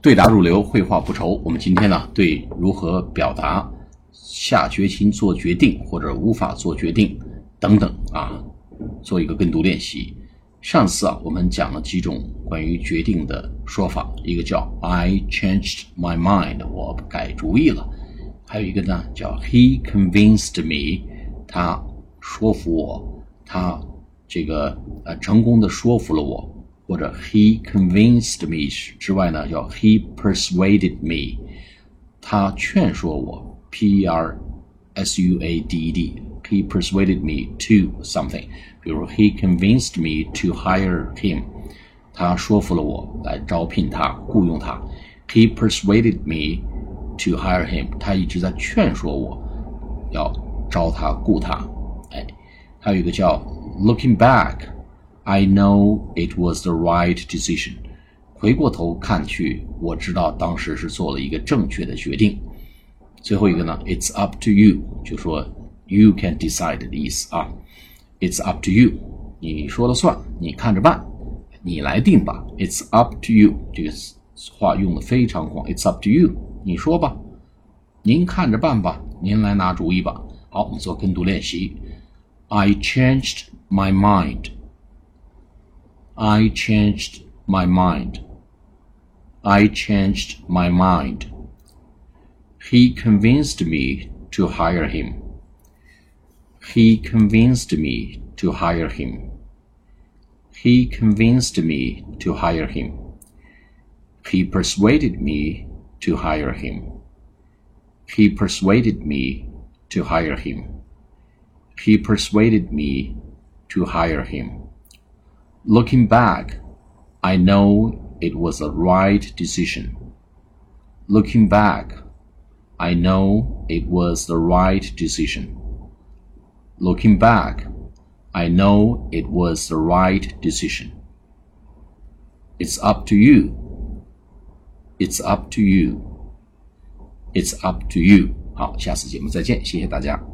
对答如流，绘画不愁。我们今天呢，对如何表达下决心做决定或者无法做决定等等做一个跟读练习。上次我们讲了几种关于决定的说法，一个叫 I changed my mind， 我改主意了。还有一个呢叫 He convinced me， 他说服我，他成功的说服了我。或者 he convinced me 之外呢，叫 he persuaded me， 他劝说我 P-E-R-S-U-A-D-E-D， he persuaded me to something， 比如 he convinced me to hire him， 他说服了我来招聘他，雇佣他。 he persuaded me to hire him， 他一直在劝说我要招他雇他。还有一个叫 looking back，I know it was the right decision， 回过头看去，我知道当时是做了一个正确的决定。最后一个呢 It's up to you， 就说 you can decide 的意思It's up to you， 你说了算，你看着办，你来定吧。 It's up to you 这个话用的非常广， It's up to you， 你说吧，您看着办吧，您来拿主意吧。好，我们做跟读练习。 I changed my mind，I changed my mind. I changed my mind. He convinced me to hire him. He convinced me to hire him. He convinced me to hire him. He persuaded me to hire him. He persuaded me to hire him. He persuaded me to hire him.Looking back, I know it was the right decision. Looking back, I know it was the right decision. Looking back, I know it was the right decision. It's up to you. It's up to you. It's up to you. 好，下次节目再见，谢谢大家。